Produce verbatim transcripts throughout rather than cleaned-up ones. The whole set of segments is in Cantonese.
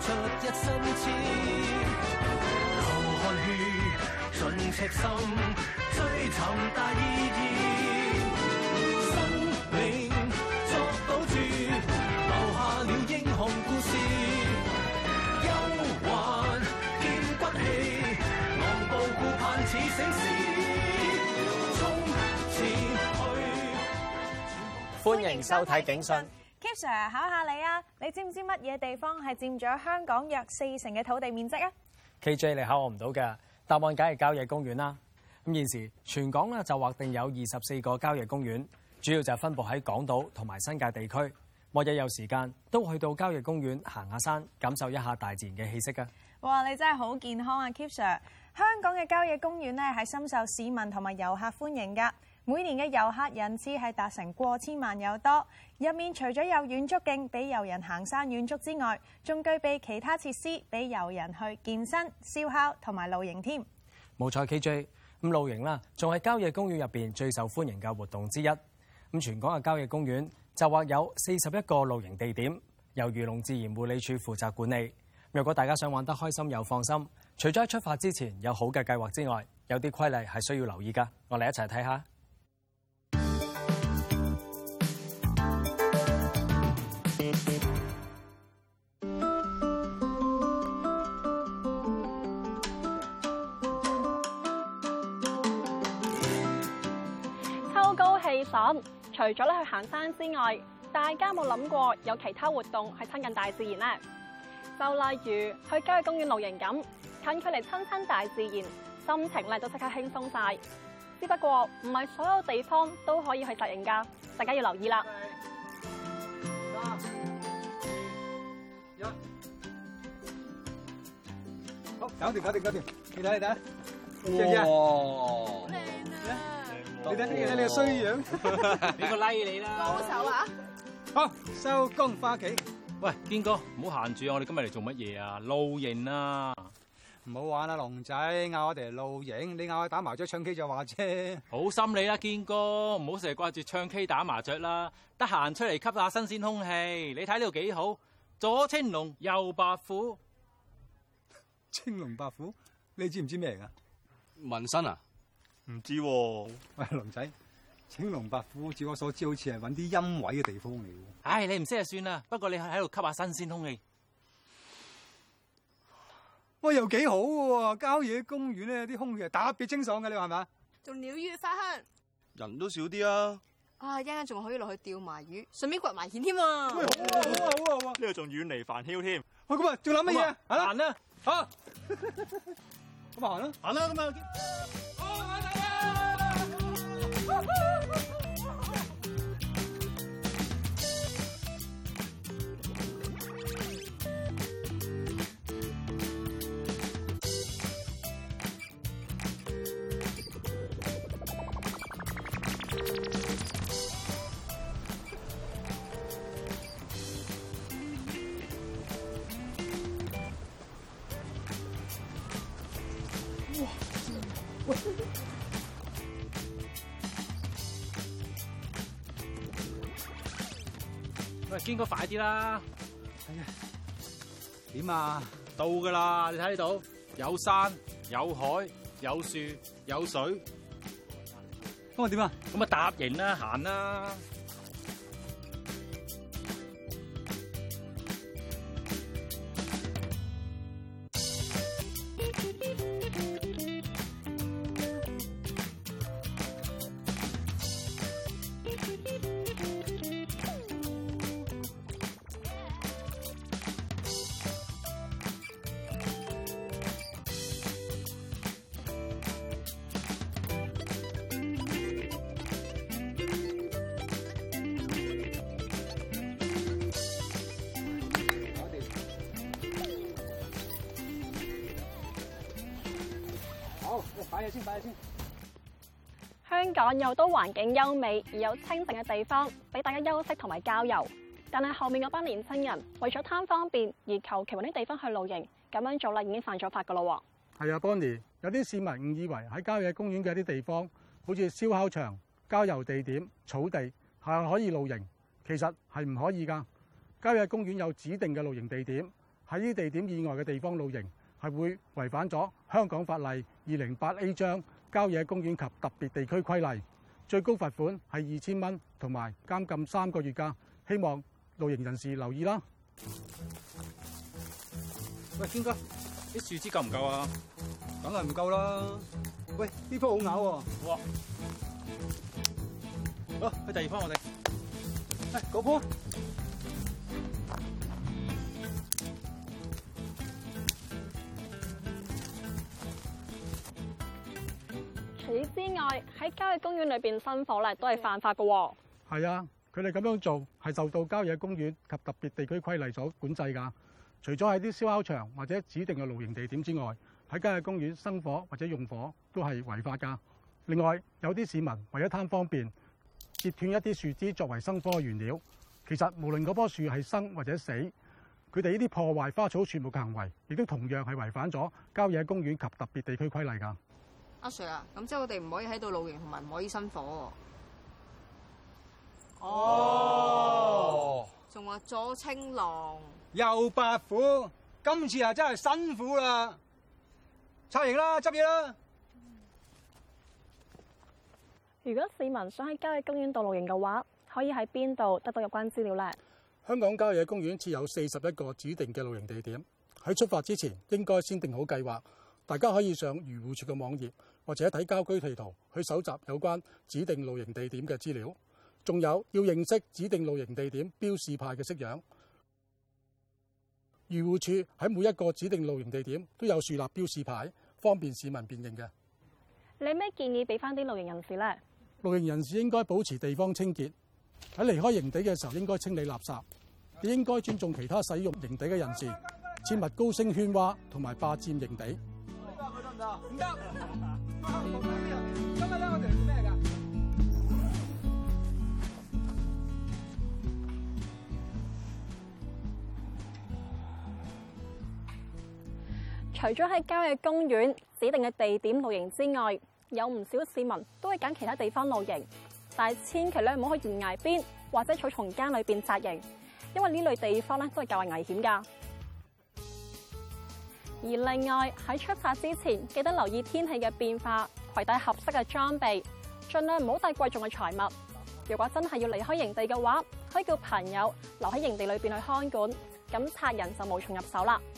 着一身痴，流汗血盡赤心，追尋大意義，生命作賭注，留下了英雄故事，憂患見骨氣，昂步顧盼似醒獅，衝前去。 歡迎收睇警訊。 Kip Sir 考下你啊，你知唔知乜嘢地方係佔咗香港約四成嘅土地面積啊 ？K J 你考我唔到嘅，答案梗係郊野公園啦。咁現時全港咧就劃定有二十四個郊野公園，主要就係分佈喺港島同埋新界地區。每日有時間都去到郊野公園行下山，感受一下大自然嘅氣息㗎。 哇！你真係好健康啊 Kip Sir！香港嘅郊野公園咧係深受市民同埋遊客歡迎㗎。每年嘅遊客人次係達成過千萬有多，入面除咗有遠足徑俾遊人行山遠足之外，仲具備其他設施俾遊人去健身、燒烤同埋露營添。 冇錯 ，K J， 咁露營啦，仲係郊野公園入邊最受歡迎嘅活動之一。咁全港嘅郊野公園就劃有四十一個露營地點，由漁農自然護理署負責管理。若果大家想玩得開心又放心，除咗喺出發之前有好嘅計劃之外，有啲規例係需要留意㗎。我哋一齊睇下。 秋高氣爽，除咗咧去行山之外，大家有冇諗過有其他活動係親近大自然呢？就例如去郊野公園露營咁，近距離親親大自然，心情咧都即刻輕鬆晒。只不過唔係所有地方都可以去紮營㗎，大家要留意啦。 好，搞掂，搞掂，搞掂。你睇，你睇， 哇！ 靚啊！你睇，你睇你個衰樣， 俾個 like 你啦！ 高手啊！ 好，收工返屋企。 喂，堅哥，唔好閒住啊！我哋今日嚟做乜嘢啊？露營啊！ 唔好玩啦，龍仔，嗌我哋嚟露營，你嗌我打麻雀唱 K 就話啫。 好心你啦，堅哥，唔好成日掛住唱 K 打麻雀啦，得閒出嚟吸下新鮮空氣。你睇呢度幾好，左青龍，右白虎。 青龍白虎，你知唔知咩嚟噶？ 紋身啊？ 唔知喎。喂，龍仔，青龍白虎，照我所知，好似係揾啲陰位嘅地方嚟喎。 唉，你唔識就算啦。不過你喺度吸下新鮮空氣。 喂，又幾好喎！郊野公園咧，啲空氣係特別清爽嘅，你話係咪？ 仲鳥語花香， 人都少啲啊！ 啊，一陣間仲可以落去釣埋魚，順便掘埋蜆添啊！ 喂，好啊，好啊，好啊，好啊！ 呢度仲遠離煩囂添。 喂，咁啊，仲諗乜嘢啊？ 行啦， 好，咁啊行啦， 行啦，咁啊。喂，堅哥快啲啦！ 係啊，點啊？ 到噶啦，你睇到有山有海有樹有水， 咁啊點啊？ 咁啊搭營啦，行啦！ 好，擺嘢先，擺嘢先。 香港有多環境優美而有清靜嘅地方，俾大家休息同埋郊遊。但係後面嗰班年青人為咗貪方便而求其揾啲地方去露營，咁樣做啦已經犯咗法噶咯。 係啊 ，Bonnie， 有啲市民誤以為喺郊野公園嘅一啲地方，好似燒烤場、郊遊地點、草地係可以露營，其實係唔可以㗎。郊野公園有指定嘅露營地點， 喺呢啲地點以外嘅地方露營，係會違反咗香港法例二零八 A 章郊野公園及特別地區規例，最高罰款係二千蚊，同埋監禁三個月㗎。希望露營人士留意啦。 喂，堅哥，啲樹枝夠唔夠啊？ 梗係唔夠啦。喂，呢棵好咬喎。 好啊。好，去第二棵我哋。 誒，嗰棵。 除此之外，喺郊野公園裏邊生火咧，都係犯法嘅喎。 係啊，佢哋咁樣做係受到郊野公園及特別地區規例所管制㗎。除咗喺啲燒烤場或者指定嘅露營地點之外，喺郊野公園生火或者用火都係違法㗎。另外，有啲市民為咗貪方便，截斷一啲樹枝作為生火嘅原料。其實無論嗰棵樹係生或者死，佢哋呢啲破壞花草樹木嘅行為，亦都同樣係違反咗郊野公園及特別地區規例㗎。 阿 Sir 啊，咁即係我哋唔可以喺度露營，同埋唔可以生火喎。 哦， 仲話左青龍又白虎，今次啊真係辛苦啦！拆營啦，執嘢啦！ 如果市民想喺郊野公園度露營嘅話，可以喺邊度得到有關資料呢？ 香港郊野公園設有四十一個指定嘅露營地點，喺出發之前應該先定好計劃。大家可以上漁護署嘅網頁，或者睇郊區地圖去搜集有關指定露營地點嘅資料。仲有要認識指定露營地點標示牌嘅式樣。漁護署喺每一個指定露營地點都有樹立標示牌，方便市民辨認嘅。 你有咩建議俾翻啲露營人士呢？ 露營人士應該保持地方清潔，喺離開營地嘅時候應該清理垃圾，亦應該尊重其他使用營地嘅人士，切勿高聲喧嘩同埋霸佔營地。 唔得，唔得。今日咧，我哋做咩㗎？ 除咗喺郊野公園指定嘅地點露營之外，有唔少市民都會揀其他地方露營，但係千祈咧唔好去懸崖邊或者草叢間裏邊紮營，因為呢類地方咧都係較為危險㗎。而另外喺出發之前，記得留意天氣嘅變化，攜帶合適嘅裝備，盡量唔好帶貴重嘅財物。如果真係要離開營地嘅話，可以叫朋友留喺營地裏邊去看管，咁賊人就無從入手啦。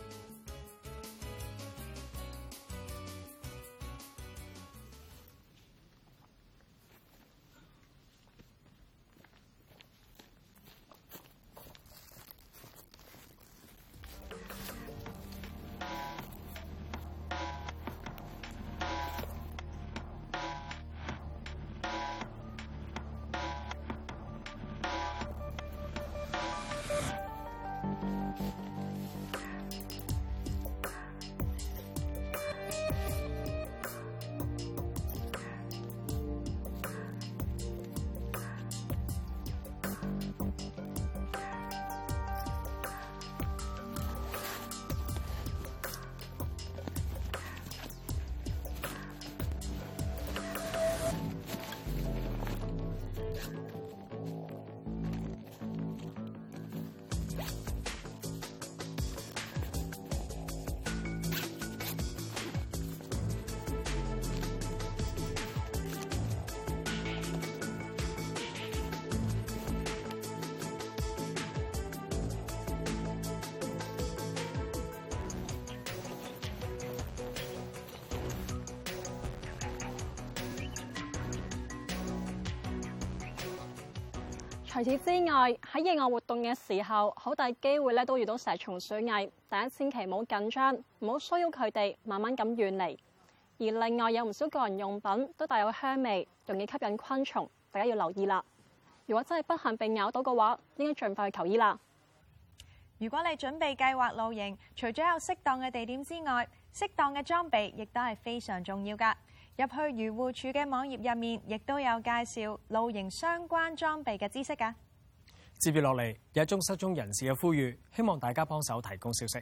除此之外，喺野外活動嘅時候，好大機會咧都遇到蛇蟲鼠蟻，大家千祈唔好緊張，唔好騷擾佢哋，慢慢咁遠離。而另外有唔少個人用品都帶有香味，容易吸引昆蟲，大家要留意啦。如果真係不幸被咬到嘅話，應該盡快去求醫啦。 如果你準備計劃露營，除咗有適當嘅地點之外，適當嘅裝備亦都係非常重要㗎。入去漁護署嘅網頁入面，亦都有介紹露營相關裝備嘅知識㗎。 接住落嚟有一宗失蹤人士嘅呼籲，希望大家幫手提供消息。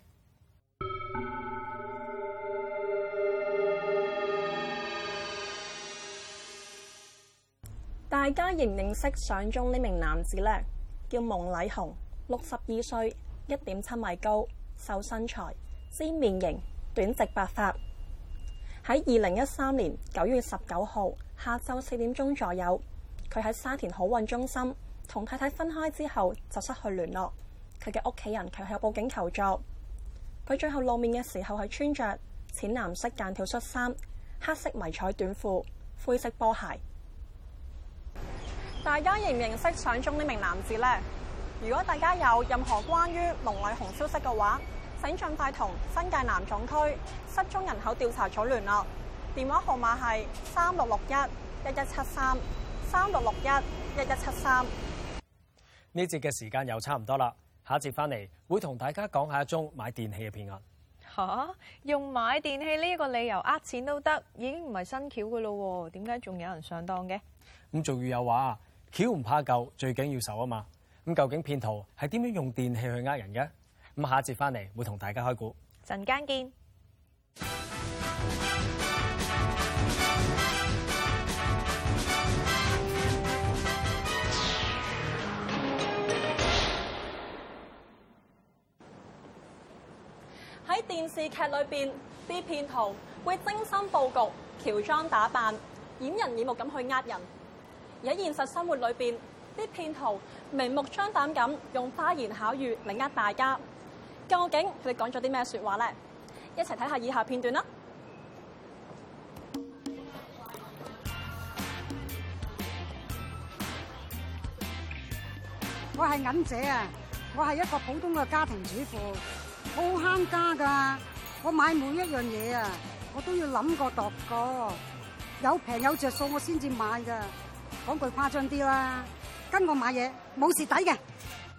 大家認唔認識相中呢名男子呢？叫蒙禮雄，六十二歲，一點七米高， 瘦身材，尖面型，短直白髮。喺二零一三年九月十九號下晝四點鐘左右，佢喺沙田好運中心同太太分開之後就失去聯絡。佢嘅屋企人卻向報警求助。佢最後露面嘅時候係穿着淺藍色間條恤衫、黑色迷彩短褲、灰色波鞋。大家認唔認識相中呢名男子呢？如果大家有任何關於龍麗紅消息嘅話，請盡快同新界南總區失蹤人口調查組聯絡，電話號碼係三六六一一一七三三六六一一一七三。 呢節嘅時間又差唔多啦，下一節翻嚟會同大家講下一宗買電器嘅騙案。 吓，用買電器呢個理由呃錢都得，已經唔係新橋噶咯，點解仲有人上當嘅？ 咁俗語有話，橋唔怕舊，最緊要受啊嘛。咁究竟騙徒係點樣用電器去呃人嘅？咁下一節翻嚟會同大家開估。 陣間見。 喺電視劇裏邊，啲騙徒會精心佈局、喬裝打扮、掩人耳目咁去呃人；而喺現實生活裏邊，啲騙徒明目張膽咁用花言巧語嚟呃大家。究竟佢哋講咗啲咩説話呢？一齊睇下以下片段啦。 我係銀姐啊！我係一個普通嘅家庭主婦，好慳家㗎。我買每一樣嘢啊，我都要諗過度過，有平有着數我先至買㗎。講句誇張啲啦，跟我買嘢冇蝕底嘅。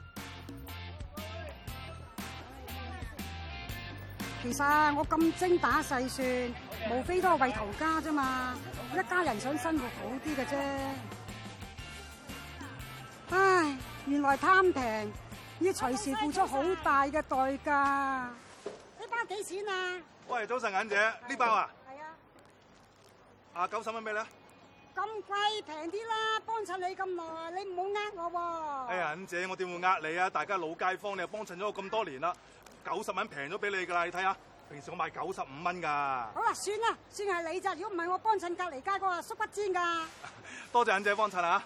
其實我咁精打細算，無非都係為頭家啫嘛，一家人想生活好啲嘅啫。唉，原來貪平要隨時付出好大嘅代價。呢包幾錢啊？ 喂，早晨，銀姐，呢包啊？ 係啊。 啊，九十蚊俾你。 咁貴，平啲啦！幫襯你咁耐，你唔好呃我喎。 哎呀，銀姐，我點會呃你啊？大家老街坊，你又幫襯咗我咁多年啦。九十蚊平咗俾你㗎啦，你睇下，平時我賣九十五蚊㗎。 好啦，算啦，算係你咋，如果唔係我幫襯隔離街嗰個叔不煎㗎。 多謝銀姐幫襯啊！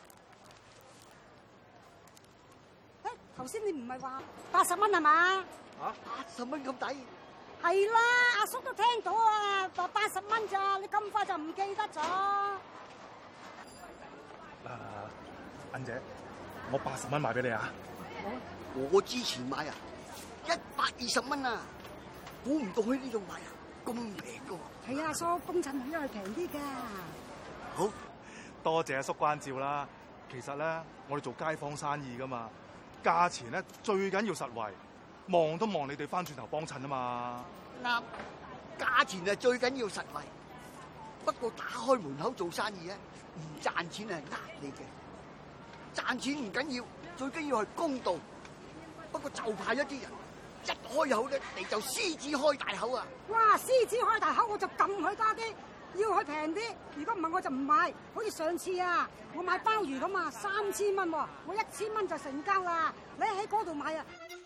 誒，頭先你唔係話八十蚊係嘛？ 嚇，八十蚊咁抵？ 係啦，阿叔都聽到啊，話八十蚊咋，你咁快就唔記得咗？ 嗱，銀姐，我八十蚊賣俾你啊！ 我我之前買啊，一百二十蚊啊，估唔到去呢度買啊，咁平噶。 係啊，阿叔幫襯因為平啲㗎。 好，多謝阿叔關照啦。其實咧，我哋做街坊生意噶嘛，價錢咧最緊要實惠，望都望你哋翻轉頭幫襯啊嘛。 啱，價錢係最緊要實惠。不過打開門口做生意咧，唔賺錢係呃你嘅。賺錢唔緊要，最緊要係公道。不過就怕一啲人一開口咧，你就獅子開大口啊！ 哇！獅子開大口，我就撳佢多啲，要佢平啲。如果唔係，我就唔買。好似上次啊，我買鮑魚咁啊，三千蚊喎，我一千蚊就成交啦。你喺嗰度買啊！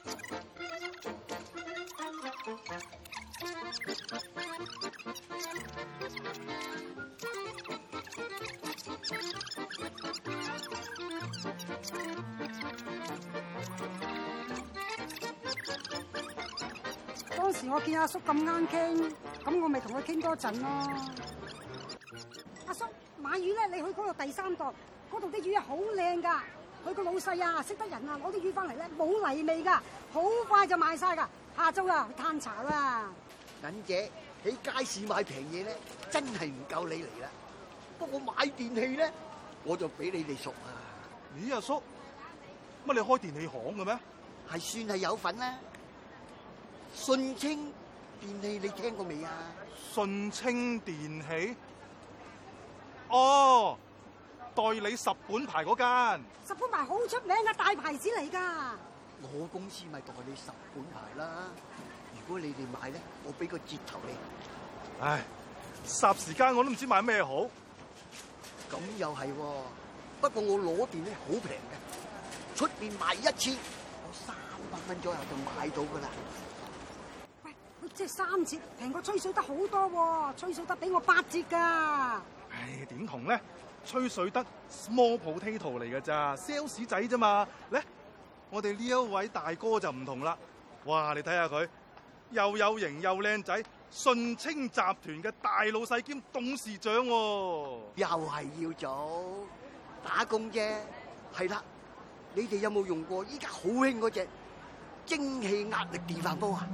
當時我見阿叔咁啱傾，咁我咪同佢傾多陣咯。阿叔買魚咧，你去嗰度第三檔，嗰度啲魚好靚噶。佢個老細啊，識得人啊，攞啲魚翻嚟咧冇泥味噶，好快就賣晒噶。下晝啊，去嘆茶啦。 銀姐喺街市買平嘢咧，真係唔夠你嚟啦。不過買電器咧，我就比你哋熟啊。 咦，阿叔，乜你開電器行嘅咩？ 係算係有份啦。順清電器你聽過未啊？ 順清電器？哦，代理十本牌嗰間。 十本牌好出名嘅大牌子嚟㗎。 我公司咪代理十本牌啦。如果你哋買咧，我俾個折頭你。 唉，霎時間我都唔知買咩好。 咁又係喎，不過我攞電咧好平嘅，出邊賣一千，我三百蚊左右就買到㗎啦。 即係三折，平過吹水得好多喎，吹水得俾我八折㗎。 唉，點同咧？吹水得 small potato 嚟㗎咋 ，sales 仔啫嘛。咧，我哋呢一位大哥就唔同啦。哇，你睇下佢，又有型又靚仔，順清集團嘅大老細兼董事長喎。 又係要做打工啫。係啦，你哋有冇用過依家好興嗰隻蒸汽壓力電飯煲啊？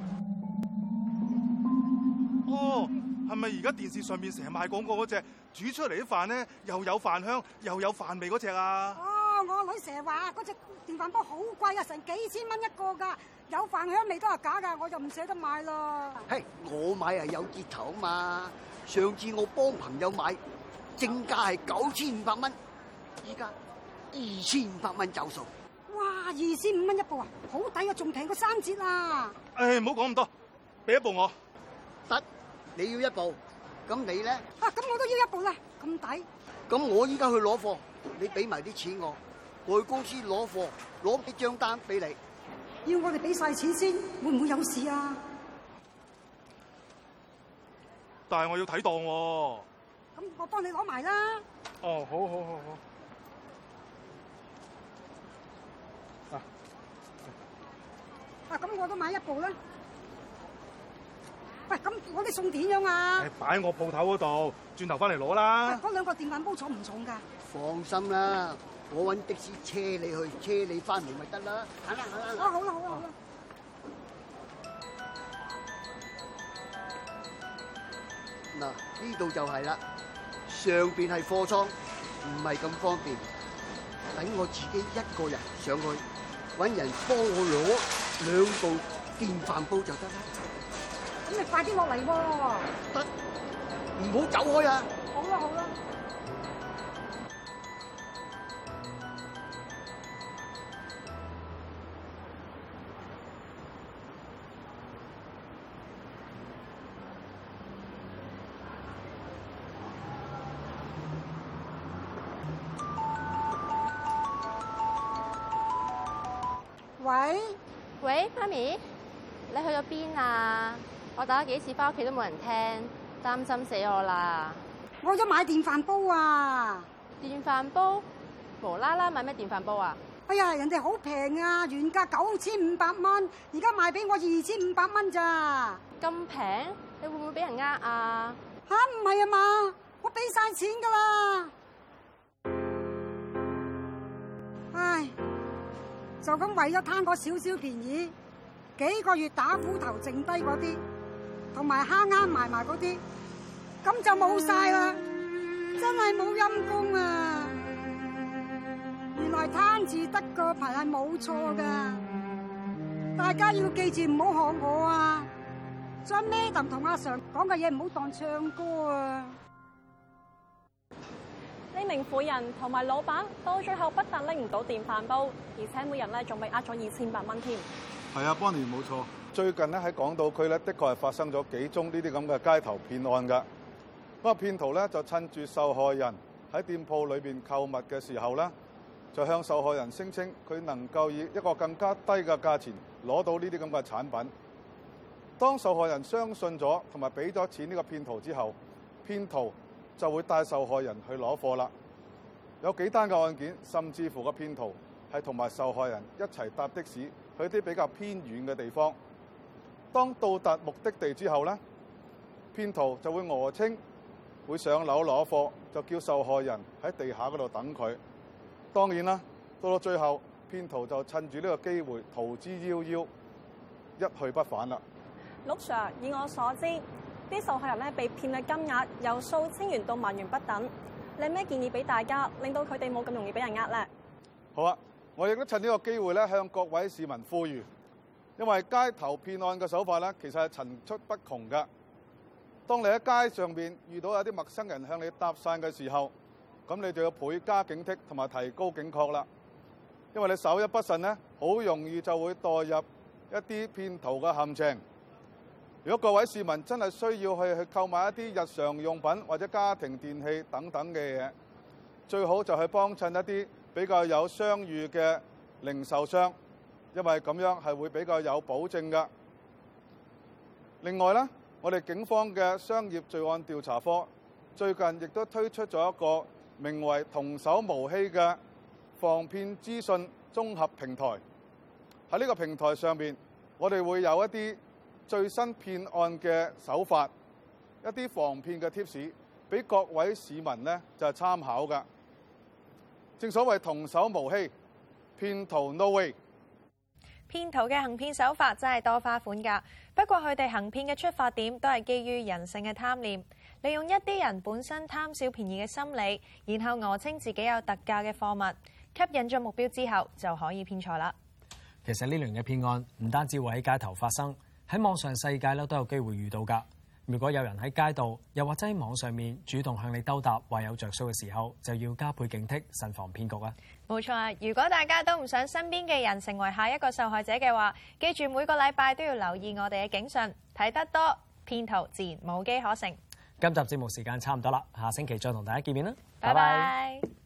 哦，係咪而家電視上面成日賣廣告嗰隻煮出嚟啲飯咧，又有飯香又有飯味嗰隻啊？ 哦，我女成日話嗰隻電飯煲好貴啊，成幾千蚊一個㗎，有飯香味都係假㗎，我就唔捨得買啦。 嘿，我買係有折頭嘛。上次我幫朋友買，正價係九千五百蚊，依家二千五百蚊走數。 哇，二千五蚊一部啊，好抵啊，仲平過三折啊！ 誒，唔好講咁多，俾一部我。 得，你要一部，咁你咧？ 啊，咁我都要一部啦，咁抵。 咁我依家去攞貨，你俾埋啲錢我，我去公司攞貨，攞啲張單俾你。 要我哋俾晒錢先，會唔會有事啊？ 但係我要睇檔喎。 咁我幫你攞埋啦。 哦，好好好好。啊， 啊，咁我都買一部啦。喂，咁我啲餸點樣啊？ 擺喺我鋪頭嗰度，轉頭翻嚟攞啦。 嗰兩個電飯煲重唔重㗎？ 放心啦，我揾的士車你去，車你翻嚟咪得啦。行啦行啦。 啊，好啦好啦好啦。 嗱，呢度就係啦，上邊係貨倉，唔係咁方便。等我自己一個人上去，揾人幫我攞兩部電飯煲就得啦。 咁你快啲落嚟喎！ 得，唔好走開啊！ 好啦好啦。喂喂，媽咪，你去咗邊啊？我打咗幾次翻屋企都冇人聽，擔心死我啦！ 我咗買電飯煲啊！ 電飯煲？無啦啦買咩電飯煲啊？ 哎呀，人哋好平啊，原價九千五百蚊，而家賣俾我二千五百蚊咋？ 咁平？你會唔會俾人呃啊？ 吓，唔係啊嘛，我俾晒錢噶啦！唉，就咁為咗貪嗰少少便宜，幾個月打斧頭剩低嗰啲，同埋慳慳埋埋嗰啲，咁就冇晒啦！真係冇陰功啊！原來貪字得個貧係冇錯噶，大家要記住唔好學我啊！將 Madam 同阿 Sir 講嘅嘢唔好當唱歌啊！ 呢名婦人同埋老闆到最後不但拎唔到電飯煲，而且每人咧仲被呃咗二千百蚊添。 係啊 ，Bonnie 冇錯。最近咧喺港島區咧，的確係發生咗幾宗呢啲咁嘅街頭騙案㗎。嗰個騙徒咧就趁住受害人喺店鋪裏邊購物嘅時候咧，就向受害人聲稱佢能夠以一個更加低嘅價錢攞到呢啲咁嘅產品。當受害人相信咗同埋俾咗錢呢個騙徒之後，騙徒就會帶受害人去攞貨啦。有幾單嘅案件，甚至乎個騙徒係同埋受害人一齊搭的士去啲比較偏遠嘅地方。當到達目的地之後呢，騙徒就會訛稱會上樓攞貨，就叫受害人喺地下嗰度等佢。當然啦，到到最後，騙徒就趁住呢個機會逃之夭夭，一去不返啦。 陸 Sir， 以我所知，啲受害人咧被騙嘅金額由數千元到萬元不等。你有咩建議俾大家，令到佢哋冇咁容易俾人呃咧？ 好啊，我亦都趁呢個機會咧，向各位市民呼籲，因為街頭騙案嘅手法咧，其實係層出不窮㗎。當你喺街上邊遇到有啲陌生人向你搭訕嘅時候，咁你就要倍加警惕同埋提高警覺啦。因為你手一不慎咧，好容易就會墮入一啲騙徒嘅陷阱。如果各位市民真係需要去去購買一啲日常用品或者家庭電器等等嘅嘢，最好就去幫襯一啲比較有商譽嘅零售商，因為咁樣係會比較有保證㗎。 另外咧，我哋警方嘅商業罪案調查科最近亦都推出咗一個名為童叟無欺嘅防騙資訊綜合平台。喺呢個平台上面，我哋會有一啲最新騙案嘅手法，一啲防騙嘅貼士，俾各位市民呢就係參考㗎。正所謂童叟無欺，騙徒 no way。 騙徒嘅行騙手法真係多花款㗎，不過佢哋行騙嘅出發點都係基於人性嘅貪念，利用一啲人本身貪小便宜嘅心理，然後訛稱自己有特價嘅貨物，吸引咗目標之後就可以騙財啦。 其實呢類型嘅騙案唔單止會喺街頭發生，喺網上世界咧都有機會遇到㗎。如果有人喺街道又或者喺網上面主動向你兜搭話有着數嘅時候，就要加倍警惕，慎防騙局啊！ 冇錯啊！如果大家都唔想身邊嘅人成為下一個受害者嘅話，記住每個禮拜都要留意我哋嘅警訊，睇得多騙徒自然無機可乘。 今集節目時間差唔多啦，下星期再同大家見面啦， 拜拜。